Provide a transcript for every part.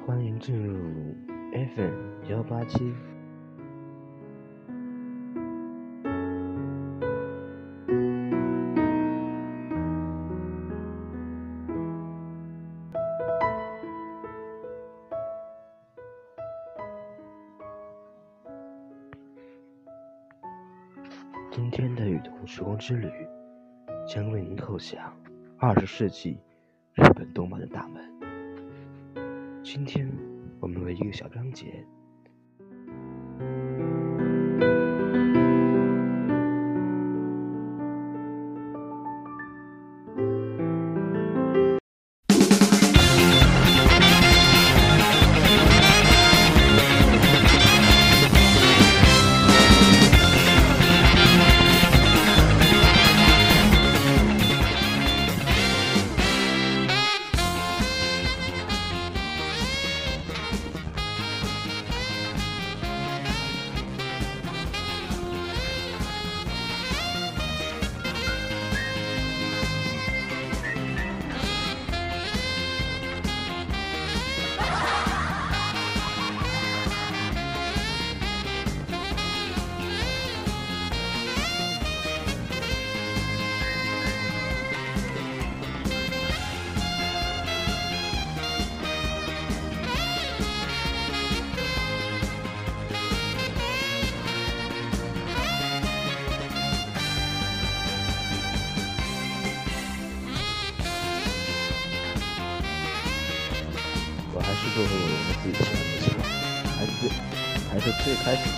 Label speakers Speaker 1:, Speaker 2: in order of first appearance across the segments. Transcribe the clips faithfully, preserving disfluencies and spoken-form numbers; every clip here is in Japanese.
Speaker 1: 欢迎进入 F M 幺八七。今天的与同时光之旅将为您叩响二十世纪日本动漫的大门。今天我们为一个小章节我还是做回我们自己喜欢的事吧，还是最还是最开始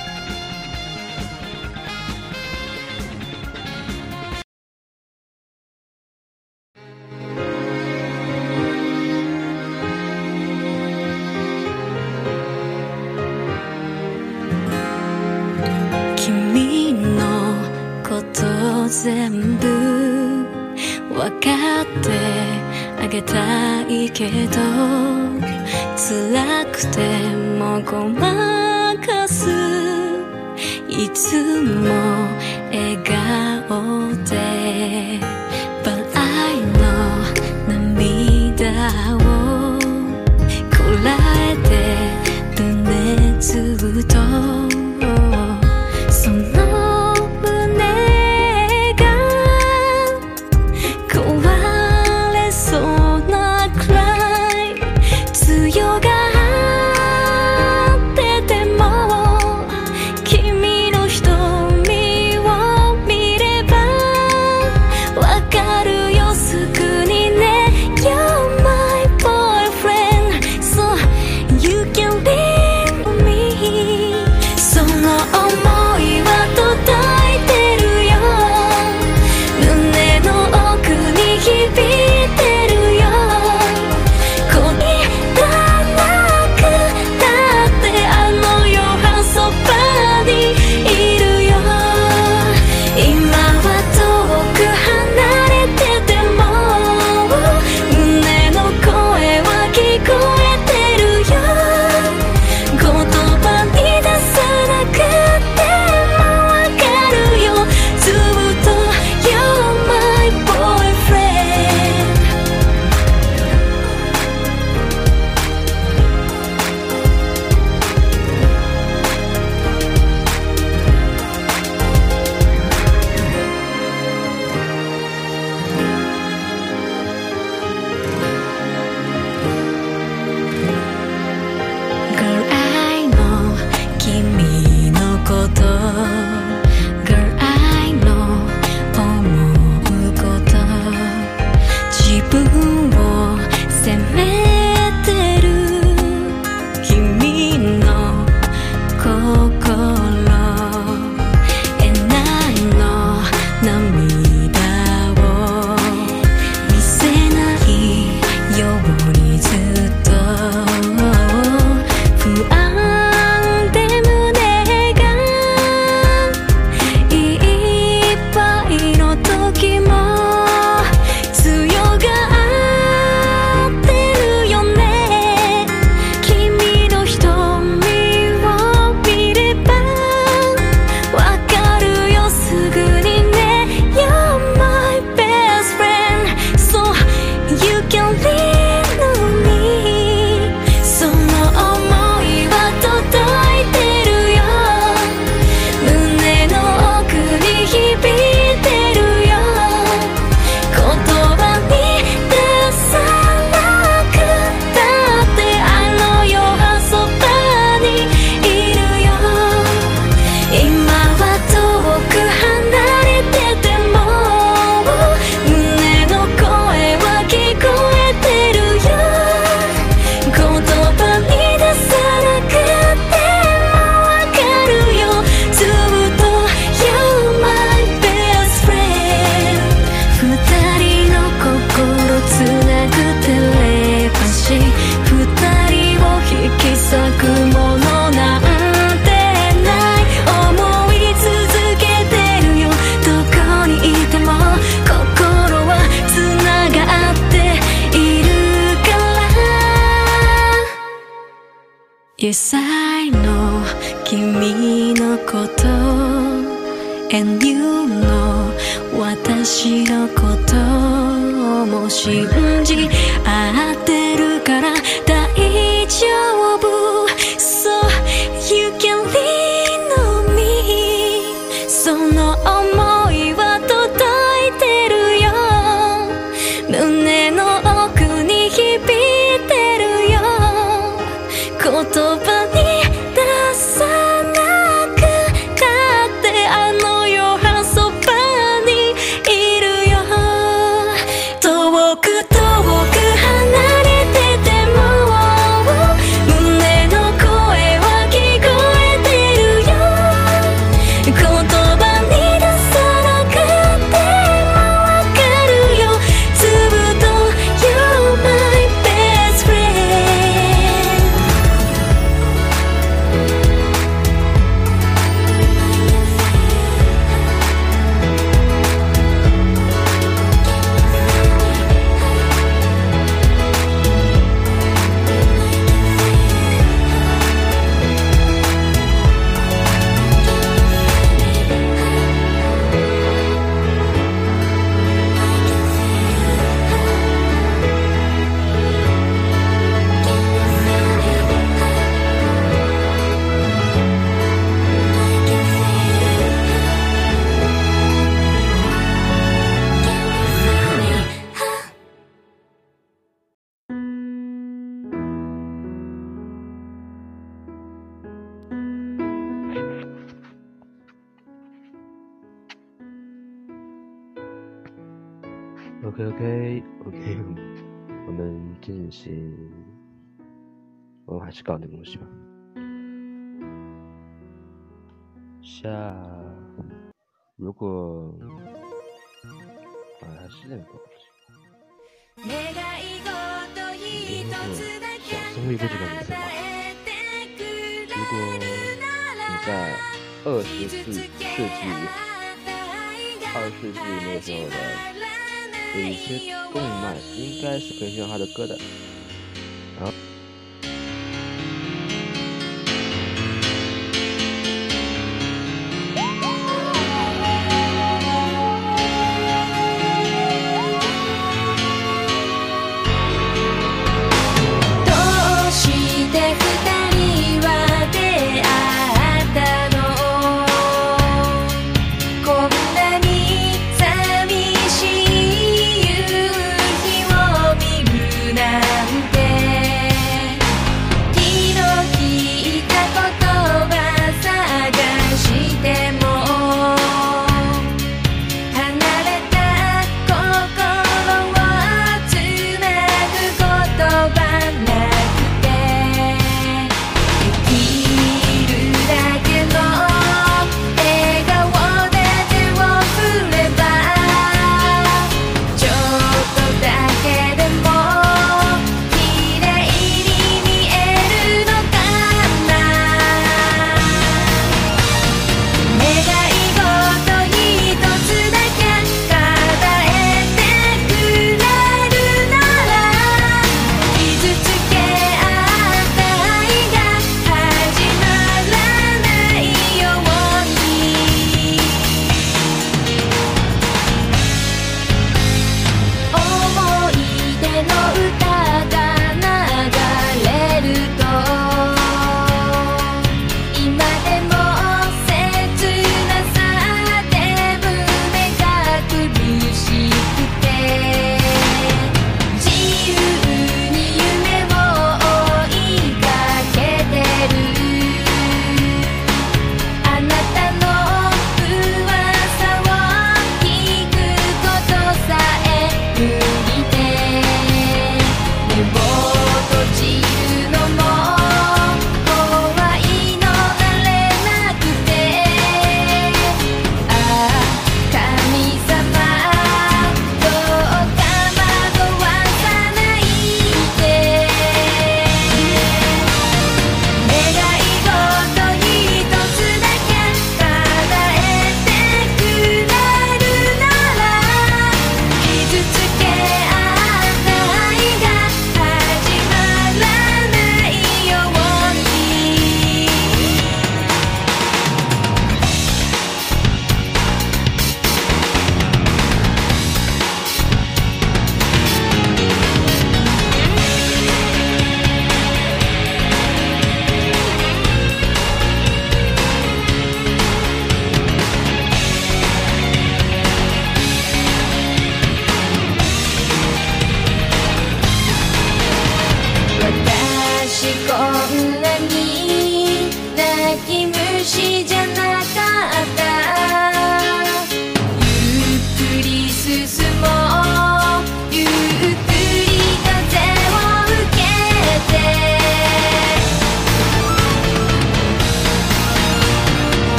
Speaker 2: 君のこと全部わかってあげたいけど辛くてもごまかすいつも笑顔で But I know 涙をこらえてるねずっとその胸が壊れそうなくらい強がってても君の瞳を見ればわかるよすぐにね You're my boyfriend So you can leave me Yes, I know 君のこと And you know 私のことも信じ合ってるから大丈夫 So you can lean on me その想いは届いてるよ胸の奥に響いてるよ言葉に出さなくたってあの夜はそばにいるよ遠く遠く離れてても胸の声は聞こえてるよ言葉に出さなくてもわかるよずっと You're my best friend
Speaker 1: OK OK OK， 我们进行，我们还是搞那个东西吧。下，如果，啊，还是那个东西。你有想生育过这个名字吗？如果你在二十世世纪、二十世纪那个时候的。有一些动漫应该是可以听到他的歌的，然后。
Speaker 2: なんて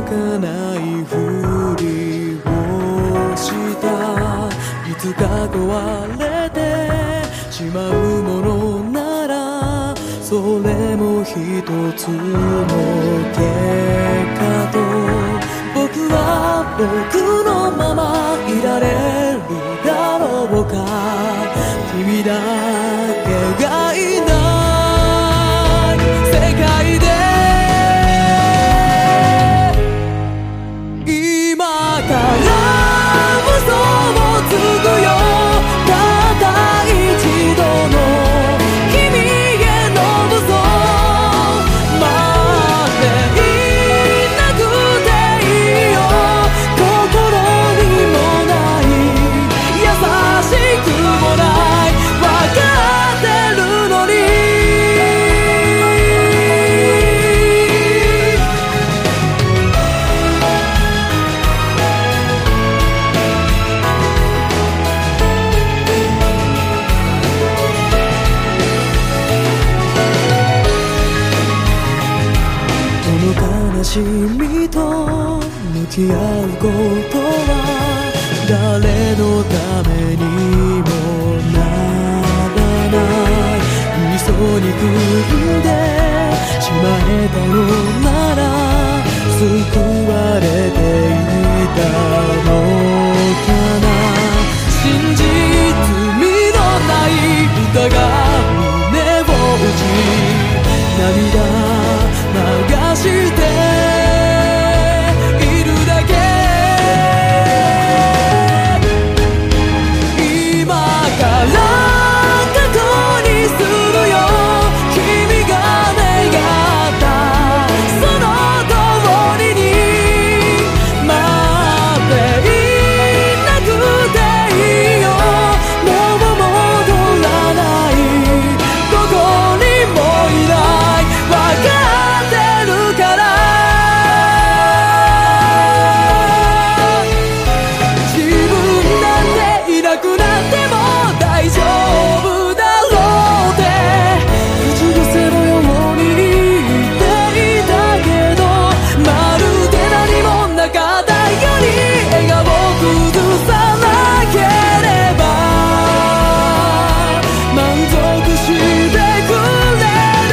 Speaker 3: かないふりをしたいつか壊れてしまうものならそれも一つの結果と僕は僕のままいられるだろうか君だけがいない世界で今から嘘をつくよたった一度の君への嘘待っていなくていいよ心にもない優しくもない分かってるのに悲しみと向き合うことは誰のためにもならない嘘に組んでしまえたのなら救われていたのかな真実味のない歌が胸を打ち涙流しているだけ今から過去にするよ君が願ったその通りに待っていなくていいよもう戻らないどこにもいない分かってるから自分なんていなくなっても大丈夫だろうって口癖のように言っていたけどまるで何もなかったように笑顔崩さなければ満足してくれる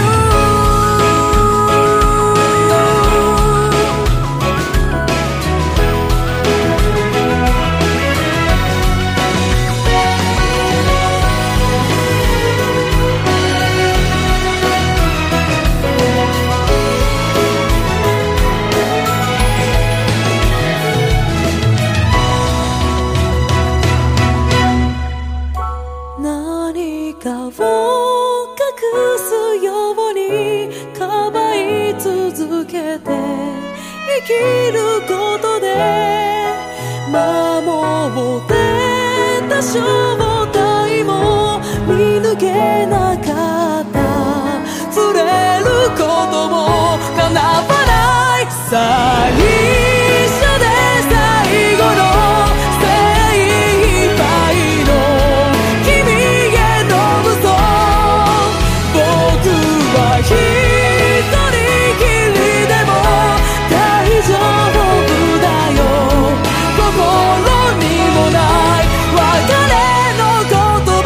Speaker 3: 何かを隠すようにかばい続けて生きることで守ってた正体も見抜けなかった触れることも叶わない最初で最後の精一杯の君への嘘僕は一人きりでも大丈夫だよ心にもない別れの言葉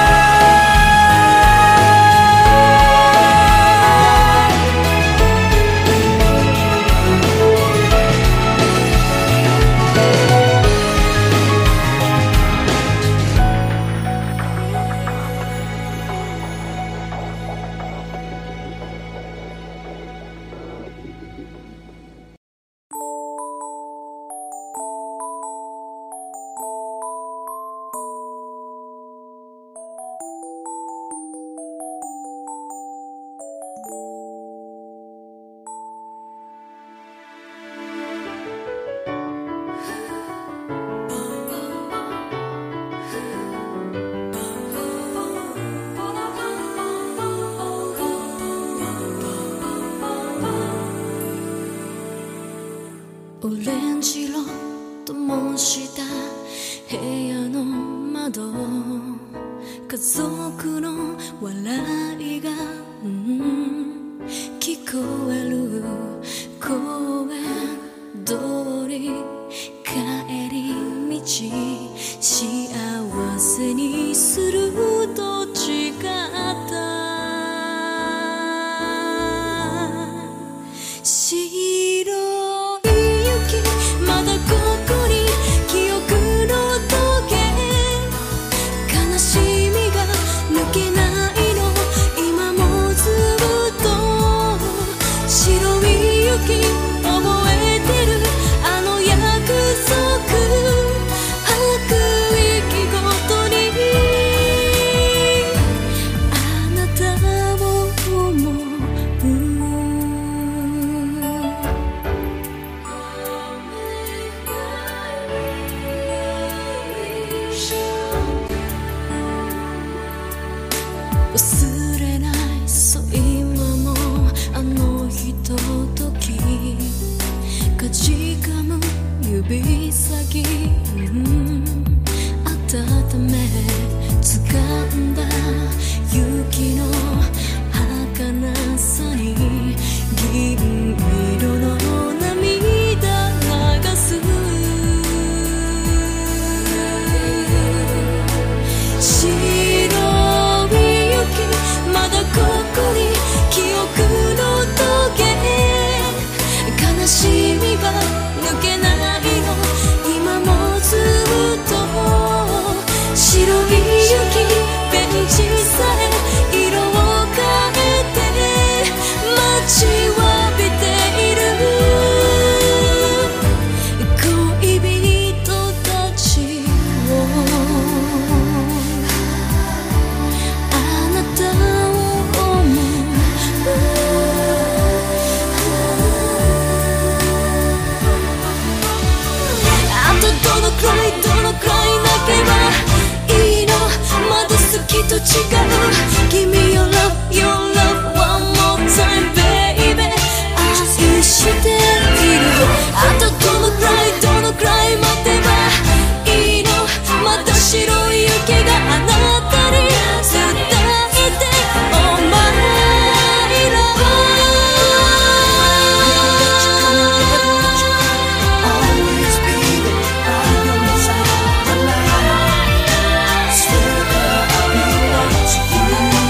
Speaker 2: オレンジ色と模した部屋の窓家族の笑いが、うん、聞こえる公園ちかむ指先、うん、温め掴んだ雪の儚さに銀色の涙流す。白い雪まだここに記憶のトゲ、悲しみが抜けないの今もずっと。白い雪ベンチさえ色を変えて待ちわびている恋人たちを。あなたを思う。あとどのくらいどのくらい泣けばいいの、まだ好きと違う。 Give me your love, your love one more time baby 愛している。あとどのくらいどのくらい待てばいいの、また白い雪があなたに伝えて Oh my love always be there by your side my life swear that I'll belong to you。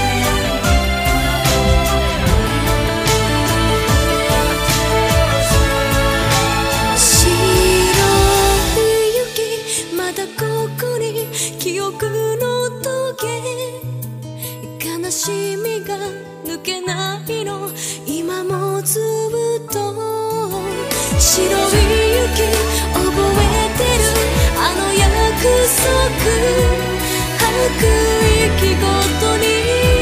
Speaker 2: 白い雪まだここに記憶のトゲ、悲しみが抜けないの今もずっと。白い雪覚えてるあの約束、吐く息ごとに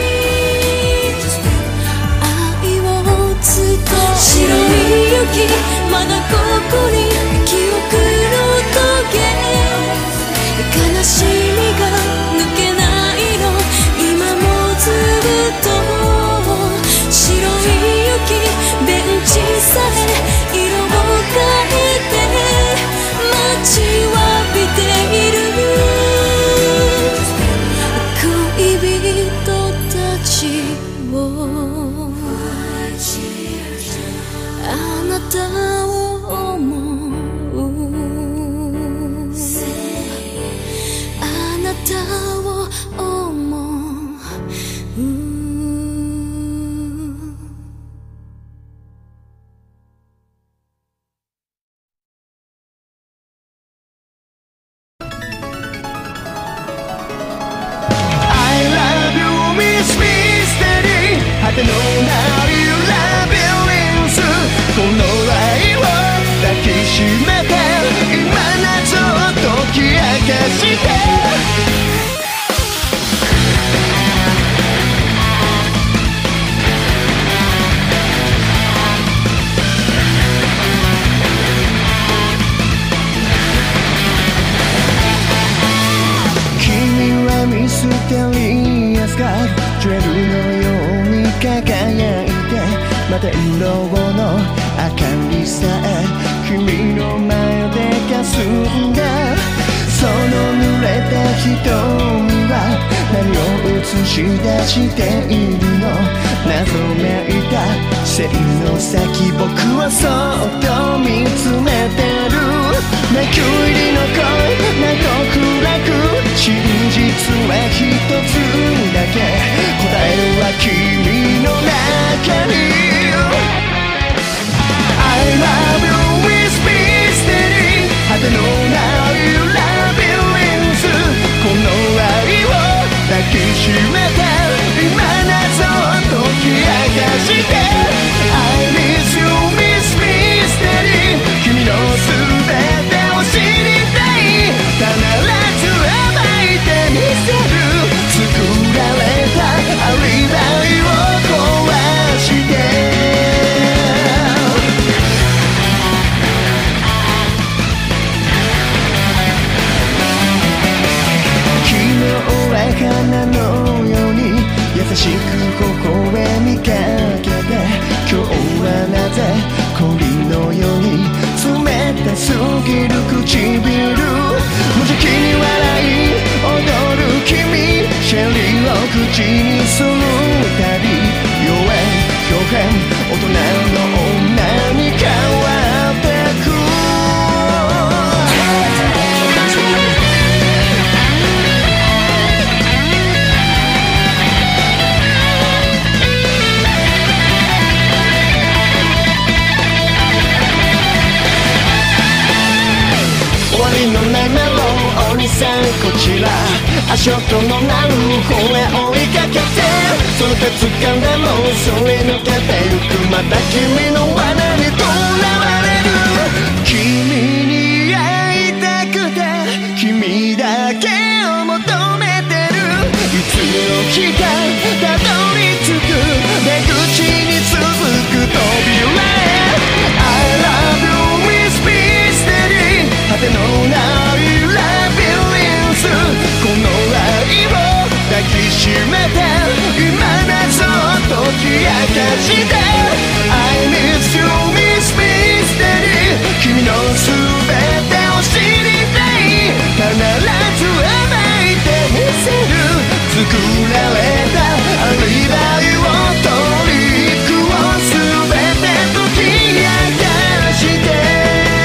Speaker 2: 愛を伝え。白い雪まだここに記憶のトゲ、悲しみが抜けないの今もずっと。白い雪ベンチさえ色を変えて待ちわびている恋人たちを。あなたを思う。あなたを思う。
Speaker 4: 果てのないラビリンス、この愛を抱きしめて今謎を解き明かして。君はミステリアスがジュエルのように輝いて、また色の明かりさえ君の前で霞んだ。その濡れた瞳は何を映し出しているの。謎めいた線の先僕はそっと見つめてる。泣く入りの声など暗く、真実は一つだけ、答えは君の中に。 I love you with mystery 果てのないラビリンス、この愛を抱きしめて今謎を解き明かして。 I miss you miss mystery りのないメロンお兄さんこちら足音の鳴る方へ追いかけてその手掴んでもそれ抜けてゆくまた君の罠にとらわれる君に会いたくて君だけを求めてるいつの日かたどり着く出口に続く扉へ I love you Miss Mystery 果てのないラビリンスこの愛を抱きしめて今謎を解き明かして I miss you Miss Mystery 君の全てを知りたい必ず暴いてみせる作られたアリバイをトリックを全て解き明かして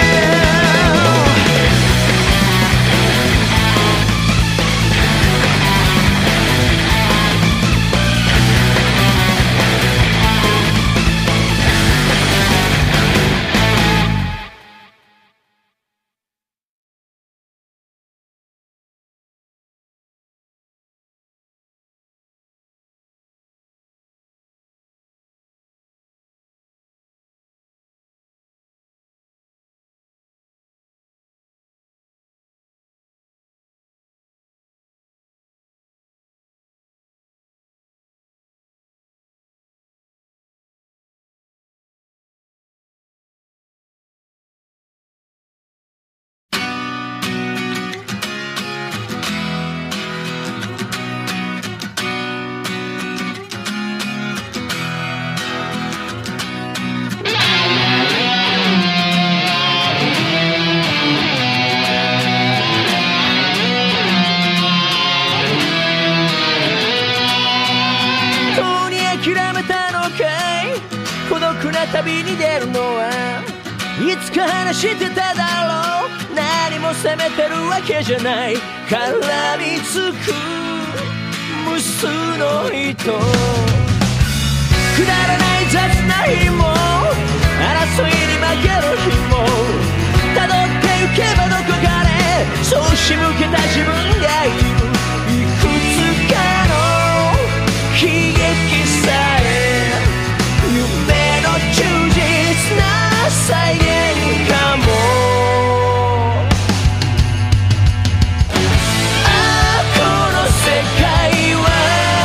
Speaker 5: 旅に出るのはいつか話してただろう何も責めてるわけじゃない絡みつく無数の人くだらない雑な日も争いに負ける日も辿ってゆけばどこかでそう仕向けた自分がいるいくつかの悲劇さえ夢の忠実な再現かもああこの世界は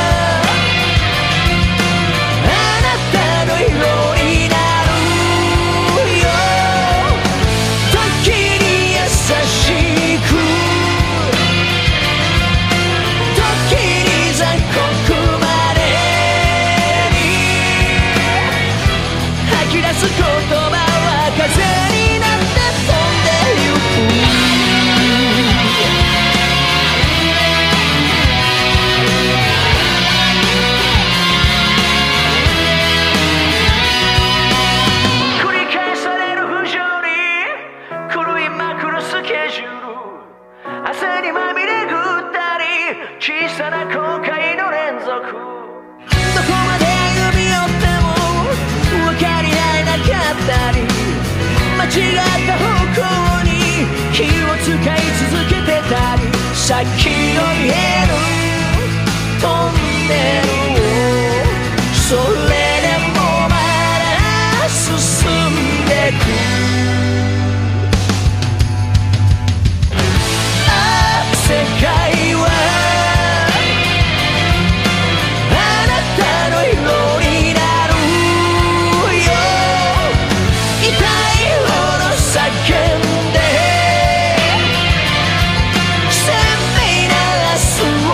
Speaker 5: あなたの色になるよ時に優しく時に残酷まで吐き出す言葉は風になって飛んでゆく繰り返される不条理狂いまくるスケジュール汗にまみれぐったり小さな後悔の連続どこまで歩み寄っても分かり合えなかったり間違った方向に気を使い続けてたり先の見えるトンネルをそれでもまだ進んでくああ世界はあなたの色になるよ痛いほど叫んで鮮明な明日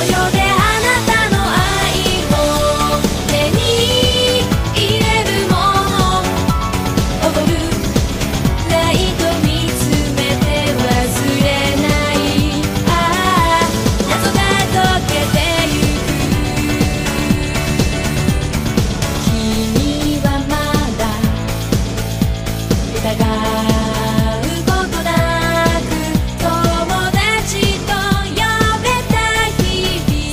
Speaker 2: 「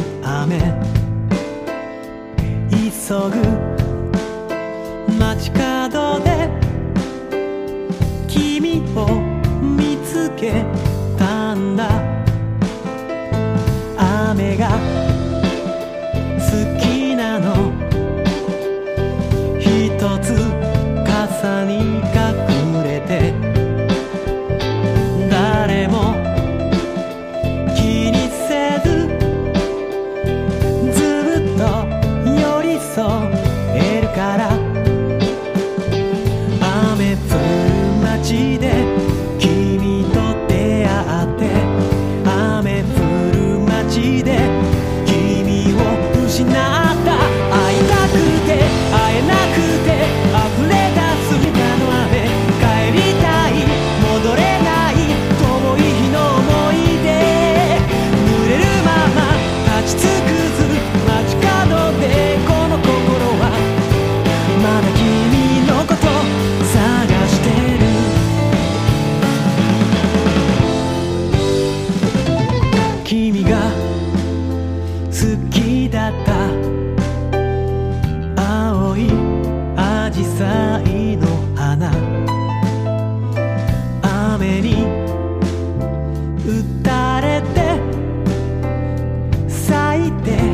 Speaker 3: 雨急ぐ街角で君を見つけたんだ雨が好きなの一つ傘に隠れて誰も気にせずずっと寄り添えるから雨降る街で君と出会って雨降る街で君を失った会いたくて会えなくて溢れ出す中の雨帰りたい戻れない遠い日の思い出濡れるまま立ち尽くす街角でこの心はまだ君のこと探してる君が好きだった青いアジサイの花雨に打たれて咲いて